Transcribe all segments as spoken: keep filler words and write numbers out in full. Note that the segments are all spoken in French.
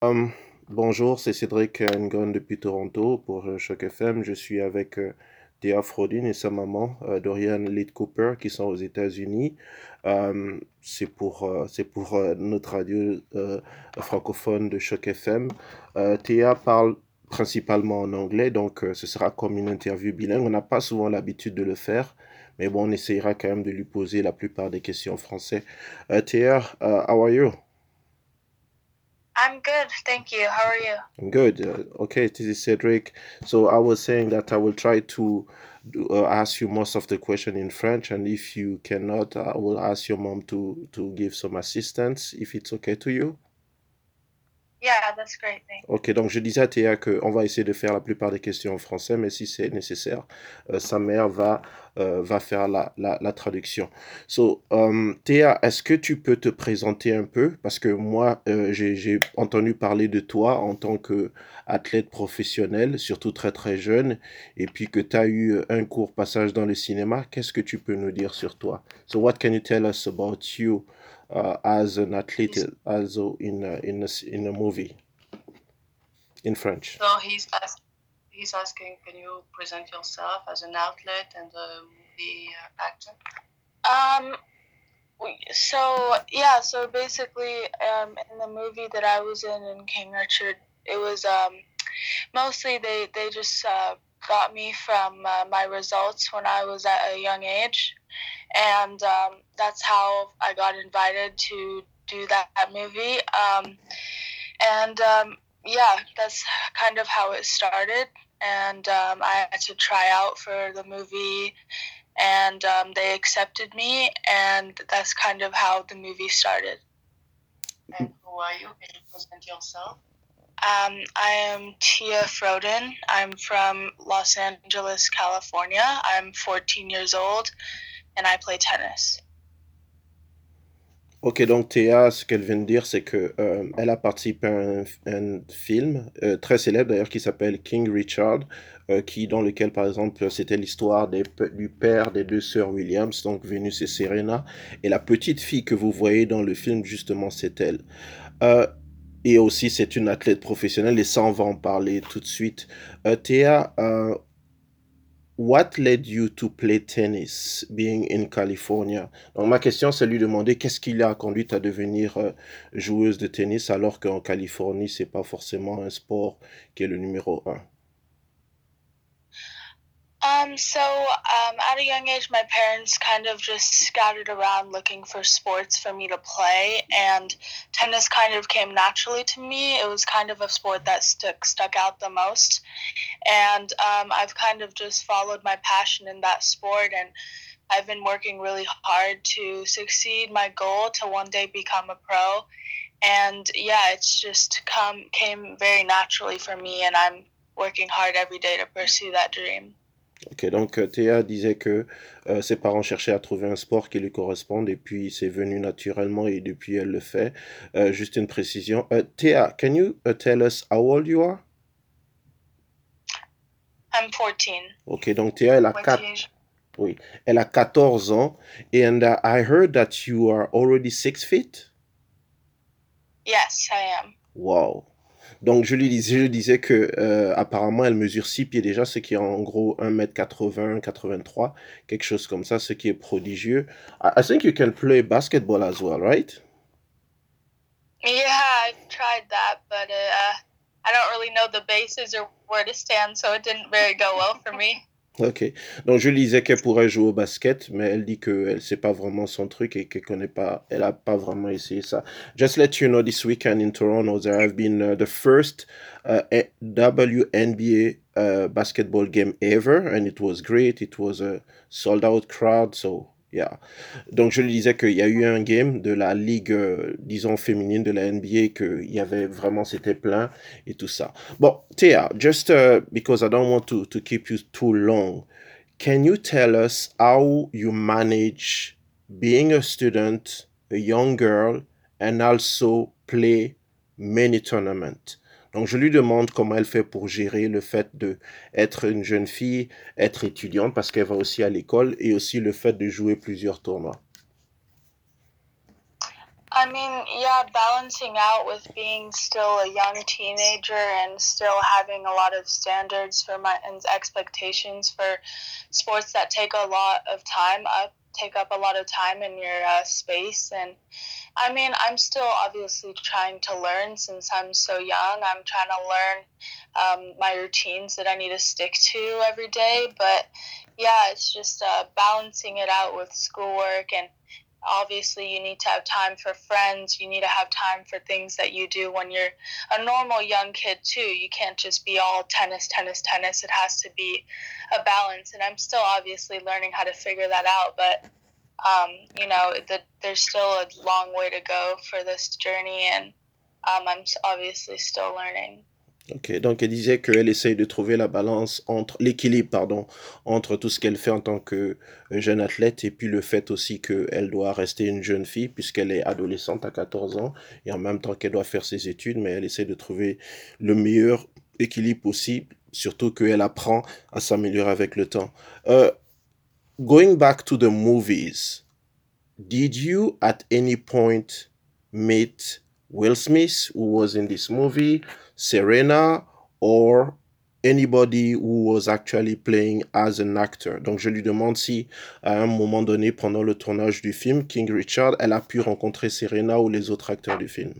Hum, Bonjour, c'est Cédric Ngon depuis Toronto pour euh, Choc F M. Je suis avec euh, Théa Frodin et sa maman, euh, Dorian Leigh Cooper, qui sont aux États-Unis. Hum, c'est pour, euh, c'est pour euh, notre radio euh, francophone de Choc F M. Euh, Théa parle principalement en anglais, donc euh, ce sera comme une interview bilingue. On n'a pas souvent l'habitude de le faire, mais bon, on essayera quand même de lui poser la plupart des questions en français. Euh, Théa, uh, how are you? I'm good, thank you. How are you? Good. Uh, okay, this is Cedric. So I was saying that I will try to do, uh, ask you most of the question in French, and if you cannot, I will ask your mom to to give some assistance, if it's okay to you. Yeah, that's great, thanks. Ok, donc je disais à Théa qu'on va essayer de faire la plupart des questions en français, mais si c'est nécessaire, euh, sa mère va, euh, va faire la, la, la traduction. So, um, Théa, est-ce que tu peux te présenter un peu? Parce que moi, euh, j'ai, j'ai entendu parler de toi en tant qu'athlète professionnel, surtout très très jeune, et puis que tu as eu un court passage dans le cinéma. Qu'est-ce que tu peux nous dire sur toi? So, what can you tell us about you uh, as an athlete, also in a, in a, in a movie? In French. So he's ask, he's asking, can you present yourself as an outlet and a movie uh, actor? Um. we- So yeah. So basically, um, in the movie that I was in in King Richard, it was um mostly they they just uh, got me from uh, my results when I was at a young age, and um, that's how I got invited to do that, that movie. Um, and um, yeah, that's kind of how it started. And um, I had to try out for the movie, and um, they accepted me, and that's kind of how the movie started. And who are you? Can you present yourself? Um, I am Tia Froden. I'm from Los Angeles, California. I'm fourteen years old, and I play tennis. Ok, donc Théa, ce qu'elle vient de dire, c'est que euh, elle a participé à un, un film euh, très célèbre d'ailleurs qui s'appelle King Richard, euh, qui dans lequel par exemple c'était l'histoire des pe- du père des deux sœurs Williams, donc Venus et Serena, et la petite fille que vous voyez dans le film justement c'est elle. Euh, et aussi c'est une athlète professionnelle et ça on va en parler tout de suite. Euh, Théa, euh, What led you to play tennis, being in California? Donc ma question, c'est lui demander qu'est-ce qui l'a conduite à devenir euh, joueuse de tennis alors qu'en Californie, c'est pas forcément un sport qui est le numéro un. Um, so um, at a young age, my parents kind of just scattered around looking for sports for me to play, and tennis kind of came naturally to me. It was kind of a sport that stuck stuck out the most, and um, I've kind of just followed my passion in that sport, and I've been working really hard to succeed my goal to one day become a pro. And yeah, it's just come came very naturally for me, and I'm working hard every day to pursue that dream. Ok, donc euh, Théa disait que euh, ses parents cherchaient à trouver un sport qui lui corresponde et puis c'est venu naturellement et depuis elle le fait. Euh, juste une précision. Euh, Théa, can you uh, tell us how old you are? I'm fourteen. Ok, donc Théa, elle a quatre. Oui, elle a quatorze ans. And uh, I heard that you are already six feet. Yes, I am. Wow. Donc je lui disais, je disais que euh, apparemment elle mesure six pieds déjà, ce qui est en gros un mètre quatre-vingts, quatre-vingt-trois, quelque chose comme ça, ce qui est prodigieux. I, I think you can play basketball as well, right? Yeah, I've tried that, but uh, I don't really know the bases or where to stand, so it didn't very go well for me. Ok. Donc je lui disais qu'elle pourrait jouer au basket, mais elle dit que elle sait pas vraiment son truc et qu'elle connaît pas, elle a pas vraiment essayé ça. Just let you know, this weekend in Toronto, there have been uh, the first uh, a- W N B A uh, basketball game ever, and it was great. It was a sold out crowd, so yeah. Donc je lui disais qu'il y a eu un game de la ligue, euh, disons féminine de la N B A, qu'il y avait vraiment, c'était plein et tout ça. Bon, Thea, just uh, because I don't want to, to keep you too long, can you tell us how you manage being a student, a young girl, and also play many tournaments? Donc je lui demande comment elle fait pour gérer le fait de être une jeune fille, être étudiante parce qu'elle va aussi à l'école et aussi le fait de jouer plusieurs tournois. I mean, yeah, balancing out with being still a young teenager and still having a lot of standards for my and expectations for sports that take a lot of time up take up a lot of time in your uh, space. And I mean, I'm still obviously trying to learn since I'm so young. I'm trying to learn um, my routines that I need to stick to every day. But yeah, it's just uh, balancing it out with schoolwork, and obviously you need to have time for friends. You need to have time for things that you do when you're a normal young kid too. You can't just be all tennis, tennis, tennis. It has to be a balance. And I'm still obviously learning how to figure that out. But um, you know, the, there's still a long way to go for this journey, and um, I'm obviously still learning. Ok, donc elle disait qu'elle essaye de trouver la balance entre l'équilibre, pardon, entre tout ce qu'elle fait en tant que euh, jeune athlète et puis le fait aussi qu'elle doit rester une jeune fille puisqu'elle est adolescente à quatorze ans et en même temps qu'elle doit faire ses études, mais elle essaie de trouver le meilleur équilibre possible, surtout qu'elle apprend à s'améliorer avec le temps. Uh, going back to the movies, did you at any point meet Will Smith, who was in this movie, Serena, or anybody who was actually playing as an actor? Donc je lui demande si à un moment donné pendant le tournage du film King Richard, elle a pu rencontrer Serena ou les autres acteurs du film.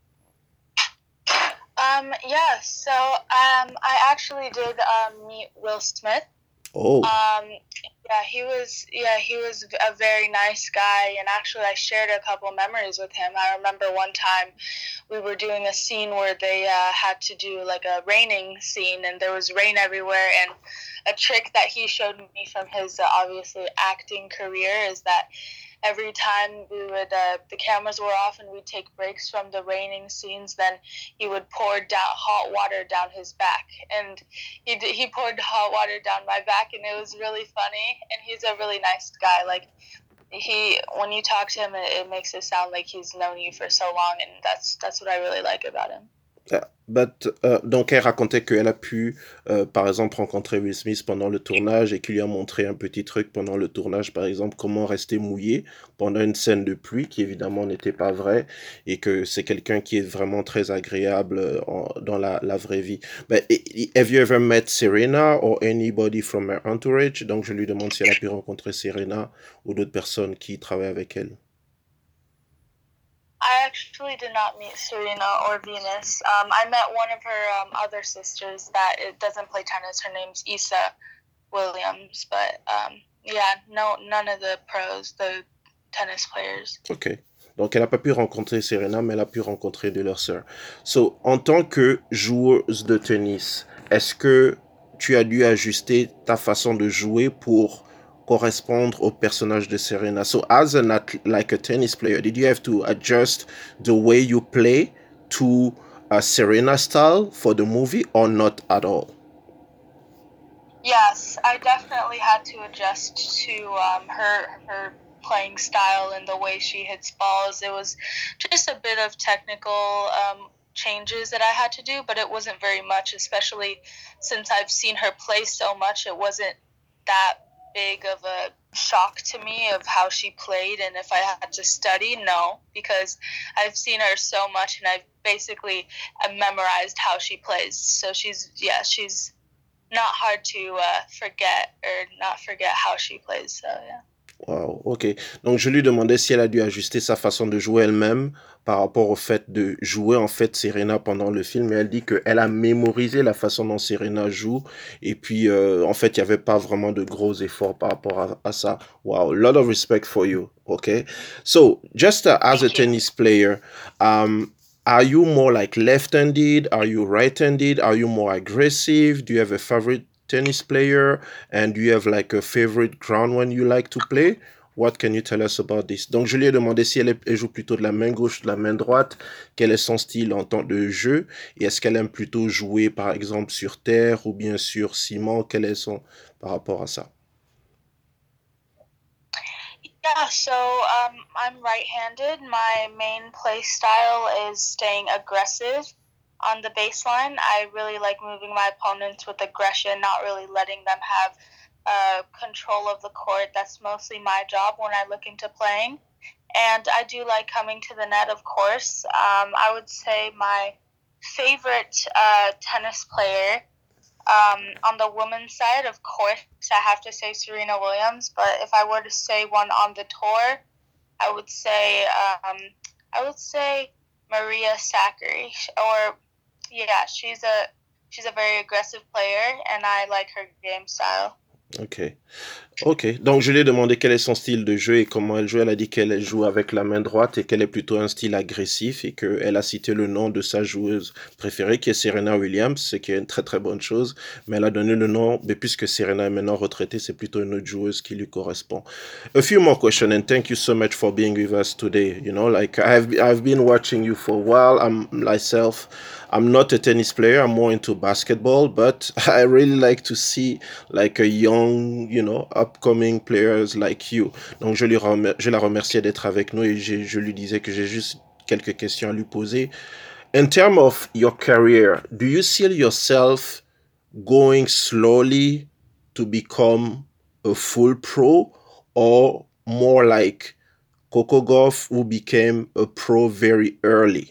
Um, yeah, so um, I actually did um, meet Will Smith. Oh. Um, yeah, he was yeah he was a very nice guy, and actually I shared a couple memories with him. I remember one time we were doing a scene where they uh, had to do like a raining scene, and there was rain everywhere. And a trick that he showed me from his uh, obviously acting career is that every time we would uh, the cameras were off and we'd take breaks from the raining scenes, then he would pour down hot water down his back, and he did, he poured hot water down my back, and it was really funny. And he's a really nice guy. Like he, when you talk to him, it, it makes it sound like he's known you for so long, and that's that's what I really like about him. Uh, but, uh, donc elle racontait qu'elle a pu, euh, par exemple, rencontrer Will Smith pendant le tournage et qu'il lui a montré un petit truc pendant le tournage, par exemple, comment rester mouillé pendant une scène de pluie qui évidemment n'était pas vraie et que c'est quelqu'un qui est vraiment très agréable euh, en, dans la, la vraie vie. But have you ever met Serena or anybody from her entourage? Donc je lui demande si elle a pu rencontrer Serena ou d'autres personnes qui travaillent avec elle. I actually did not meet Serena or Venus. Um, I met one of her um, other sisters that it doesn't play tennis. Her name's Issa Williams, but um, yeah, no, none of the pros, the tennis players. Ok. Donc, elle n'a pas pu rencontrer Serena, mais elle a pu rencontrer de leurs sœurs. So, en tant que joueuse de tennis, est-ce que tu as dû ajuster ta façon de jouer pour correspondre au personnage de Serena? So, as an like a tennis player, did you have to adjust the way you play to a Serena style for the movie or not at all? Yes, I definitely had to adjust to um, her her playing style and the way she hits balls. It was just a bit of technical um, changes that I had to do, but it wasn't very much, especially since I've seen her play so much. It wasn't that big of a shock to me of how she played, and if I had to study, no, because I've seen her so much and I've basically memorized how she plays. So she's, yeah, she's not hard to uh, forget or not forget how she plays. So yeah. Wow, ok. Donc je lui demandais si elle a dû ajuster sa façon de jouer elle-même par rapport au fait de jouer en fait Serena pendant le film, et elle dit qu'elle a mémorisé la façon dont Serena joue, et puis euh, en fait il n'y avait pas vraiment de gros efforts par rapport à, à ça. Wow, a lot of respect for you. Okay, so just uh, as a tennis player, um, are you more like left-handed? Are you right-handed? Are you more aggressive? Do you have a favorite tennis player, and do you have like a favorite ground when you like to play? What can you tell us about this? Donc je lui ai demandé si elle, elle joue plutôt de la main gauche, de la main droite, quel est son style en temps de jeu, et est-ce qu'elle aime plutôt jouer par exemple sur terre ou bien sur ciment, quel est son par rapport à ça? Yeah, so um, I'm right-handed. My main play style is staying aggressive on the baseline. I really like moving my opponents with aggression, not really letting them have uh, control of the court. That's mostly my job when I look into playing. and I do like coming to the net, of course. Um, I would say my favorite uh, tennis player um, on the women's side, of course, I have to say Serena Williams. But if I were to say one on the tour, I would say um, I would say Maria Sakkari. Or yeah, she's a she's a very aggressive player, and I like her game style. Ok. Ok. Donc, je lui ai demandé quel est son style de jeu et comment elle joue. Elle a dit qu'elle joue avec la main droite et qu'elle est plutôt un style agressif et qu'elle a cité le nom de sa joueuse préférée qui est Serena Williams, ce qui est une très très bonne chose. Mais elle a donné le nom, mais puisque Serena est maintenant retraitée, c'est plutôt une autre joueuse qui lui correspond. A few more questions and thank you so much for being with us today. You know, like I've, I've been watching you for a while. I'm myself. I'm not a tennis player. I'm more into basketball, but I really like to see like a young, you know, upcoming players like you. Donc je, lui remer- je la remerciais d'être avec nous et je, je lui disais que j'ai juste quelques questions à lui poser. In terms of your career, do you see yourself going slowly to become a full pro or more like Coco Gauff who became a pro very early?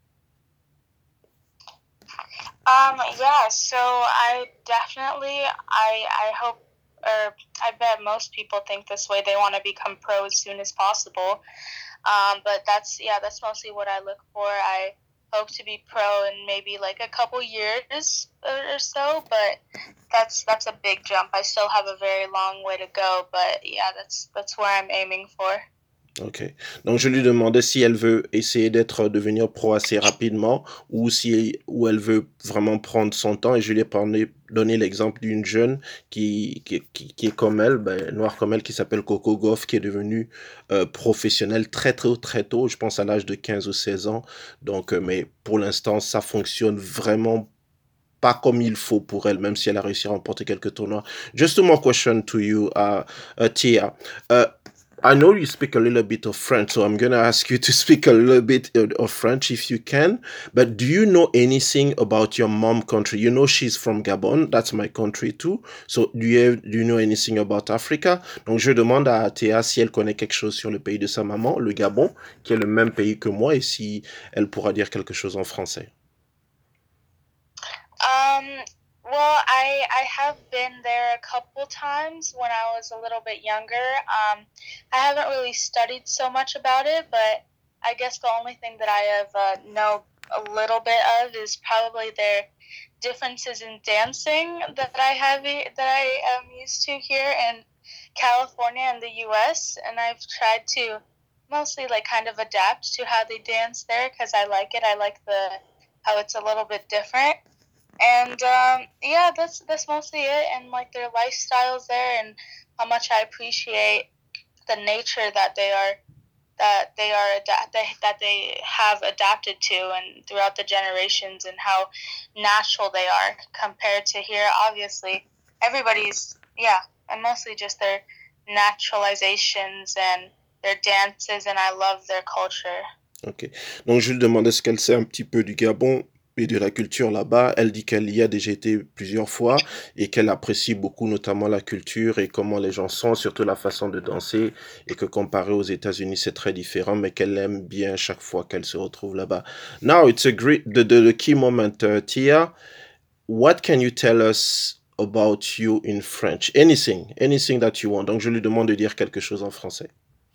Um, yeah, so I definitely, I, I hope, or I bet most people think this way. They want to become pro as soon as possible. Um, but that's, yeah, that's mostly what I look for. I hope to be pro in maybe like a couple years or so, but that's, that's a big jump. I still have a very long way to go, but yeah, that's, that's where I'm aiming for. Ok. Donc je lui demandais si elle veut essayer d'être devenir pro assez rapidement ou si ou elle veut vraiment prendre son temps et je lui ai parlé, donné l'exemple d'une jeune qui, qui, qui, qui est comme elle, ben, noire comme elle, qui s'appelle Coco Gauff, qui est devenue euh, professionnelle très très très tôt, je pense à l'âge de quinze ou seize ans. Donc, euh, mais pour l'instant, ça fonctionne vraiment pas comme il faut pour elle, même si elle a réussi à remporter quelques tournois. Just one more question to you, uh, uh, Tia. Uh, I know you speak a little bit of French, so I'm going to ask you to speak a little bit of French if you can. But do you know anything about your mom country? You know she's from Gabon, that's my country too. So do you, have, do you know anything about Africa? Donc je demande à Théa si elle connaît quelque chose sur le pays de sa maman, le Gabon, qui est le même pays que moi, et si elle pourra dire quelque chose en français. Um, well, I I have been there a couple times when I was a little bit younger. Um, I haven't really studied so much about it, but I guess the only thing that I have uh, know a little bit of is probably their differences in dancing that I have that I am used to here in California and the U S, and I've tried to mostly like kind of adapt to how they dance there because I like it. I like the how it's a little bit different. And um, yeah, that's that's mostly it. And like their lifestyles there, and how much I appreciate the nature that they are that they are that they that they have adapted to, and throughout the generations, and how natural they are compared to here. Obviously, everybody's yeah, and mostly just their naturalizations and their dances, and I love their culture. Ok. Donc je lui demandais ce qu'elle sait un petit peu du Gabon et de la culture là-bas. Elle dit qu'elle y a déjà été plusieurs fois et qu'elle apprécie beaucoup notamment la culture et comment les gens sont, surtout la façon de danser, et que comparé aux États-Unis c'est très différent, mais qu'elle aime bien chaque fois qu'elle se retrouve là-bas. Now it's a great the, the, the key moment, uh, Tia. What can you tell us about you in French? Anything, anything that you want. Donc je lui demande de dire quelque chose en français.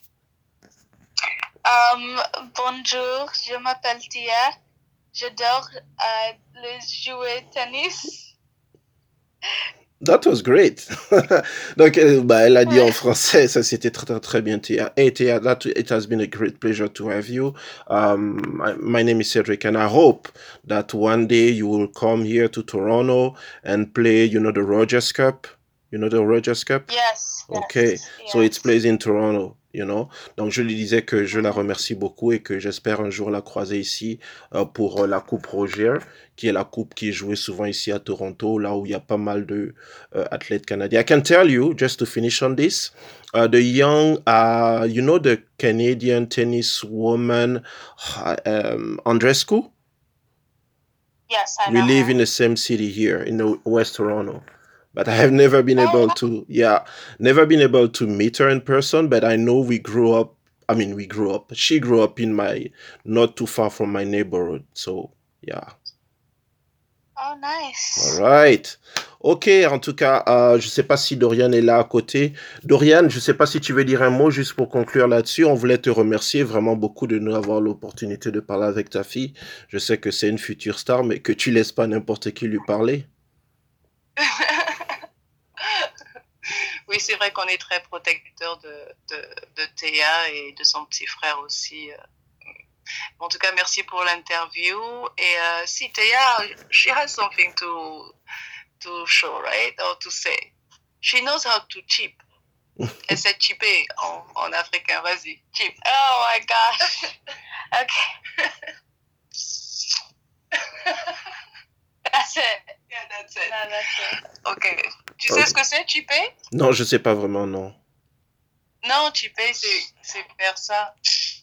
Um, bonjour, je m'appelle Tia. J'adore uh, les jouer tennis. That was great. Donc, bah, elle a dit en français, ça c'était très, très, très bien, Tia. Hey, Tia, that, it has been a great pleasure to have you. Um, my, my name is Cedric, and I hope that one day you will come here to Toronto and play, you know, the Rogers Cup. You know the Rogers Cup? Yes. Okay, yes, so yes. it's plays in Toronto, you know. Donc je lui disais que je la remercie beaucoup et que j'espère un jour la croiser ici euh, pour euh, la Coupe Roger, qui est la coupe qui est jouée souvent ici à Toronto, là où il y a pas mal de euh, athlètes canadiens. I can tell you, just to finish on this, uh, the young, uh, you know the Canadian tennis woman, uh, um, Andreescu? Yes, I We know live her. in the same city here in the West Toronto. But I have never been able to, yeah, never been able to meet her in person. But I know we grew up I mean, we grew up. She grew up in my, not too far from my neighborhood. So, yeah. Oh, nice. All right. Ok, en tout cas, euh, je ne sais pas si Dorian est là à côté. Dorian, je ne sais pas si tu veux dire un mot juste pour conclure là-dessus. On voulait te remercier vraiment beaucoup de nous avoir l'opportunité de parler avec ta fille. Je sais que c'est une future star, mais que tu laisses pas n'importe qui lui parler. Oui, c'est vrai qu'on est très protecteur de, de, de Théa et de son petit frère aussi. En tout cas, merci pour l'interview. Et uh, si Théa, she has something to to show, right? Or to say. She knows how to chip. Elle sait chipper en, en africain. Vas-y, chip. Oh my gosh. Okay. That's it. Yeah, that's it. No, that's it. Ok. Tu sais okay. ce que c'est, chipper? Non, je sais pas vraiment, non. Non, chipper, c'est faire ça.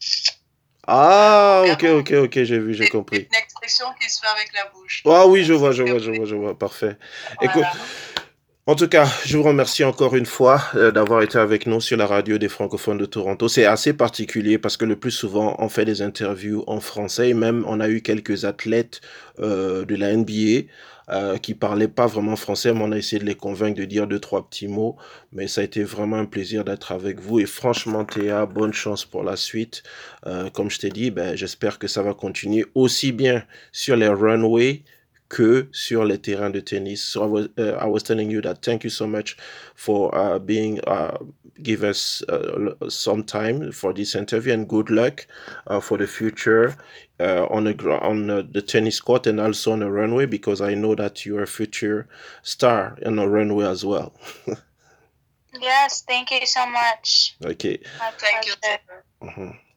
Ah, ok, ok, ok, j'ai vu, j'ai compris. C'est une expression qui se fait avec la bouche. Ah oui, je vois, je vois, je vois, je vois, parfait. Voilà. Écoute, en tout cas, je vous remercie encore une fois euh, d'avoir été avec nous sur la radio des francophones de Toronto. C'est assez particulier parce que le plus souvent, on fait des interviews en français et même on a eu quelques athlètes euh, de la N B A euh, qui parlaient pas vraiment français, mais on a essayé de les convaincre de dire deux, trois petits mots. Mais ça a été vraiment un plaisir d'être avec vous et franchement, Théa, bonne chance pour la suite. Euh, comme je t'ai dit, ben, j'espère que ça va continuer aussi bien sur les runways que sur les terrains de tennis. So I was, uh, I was telling you that thank you so much for uh, being, uh, give us uh, some time for this interview and good luck uh, for the future uh, on, the, on uh, the tennis court and also on the runway because I know that you're a future star on the runway as well. Yes, thank you so much. Okay. My thank you. Mm-hmm.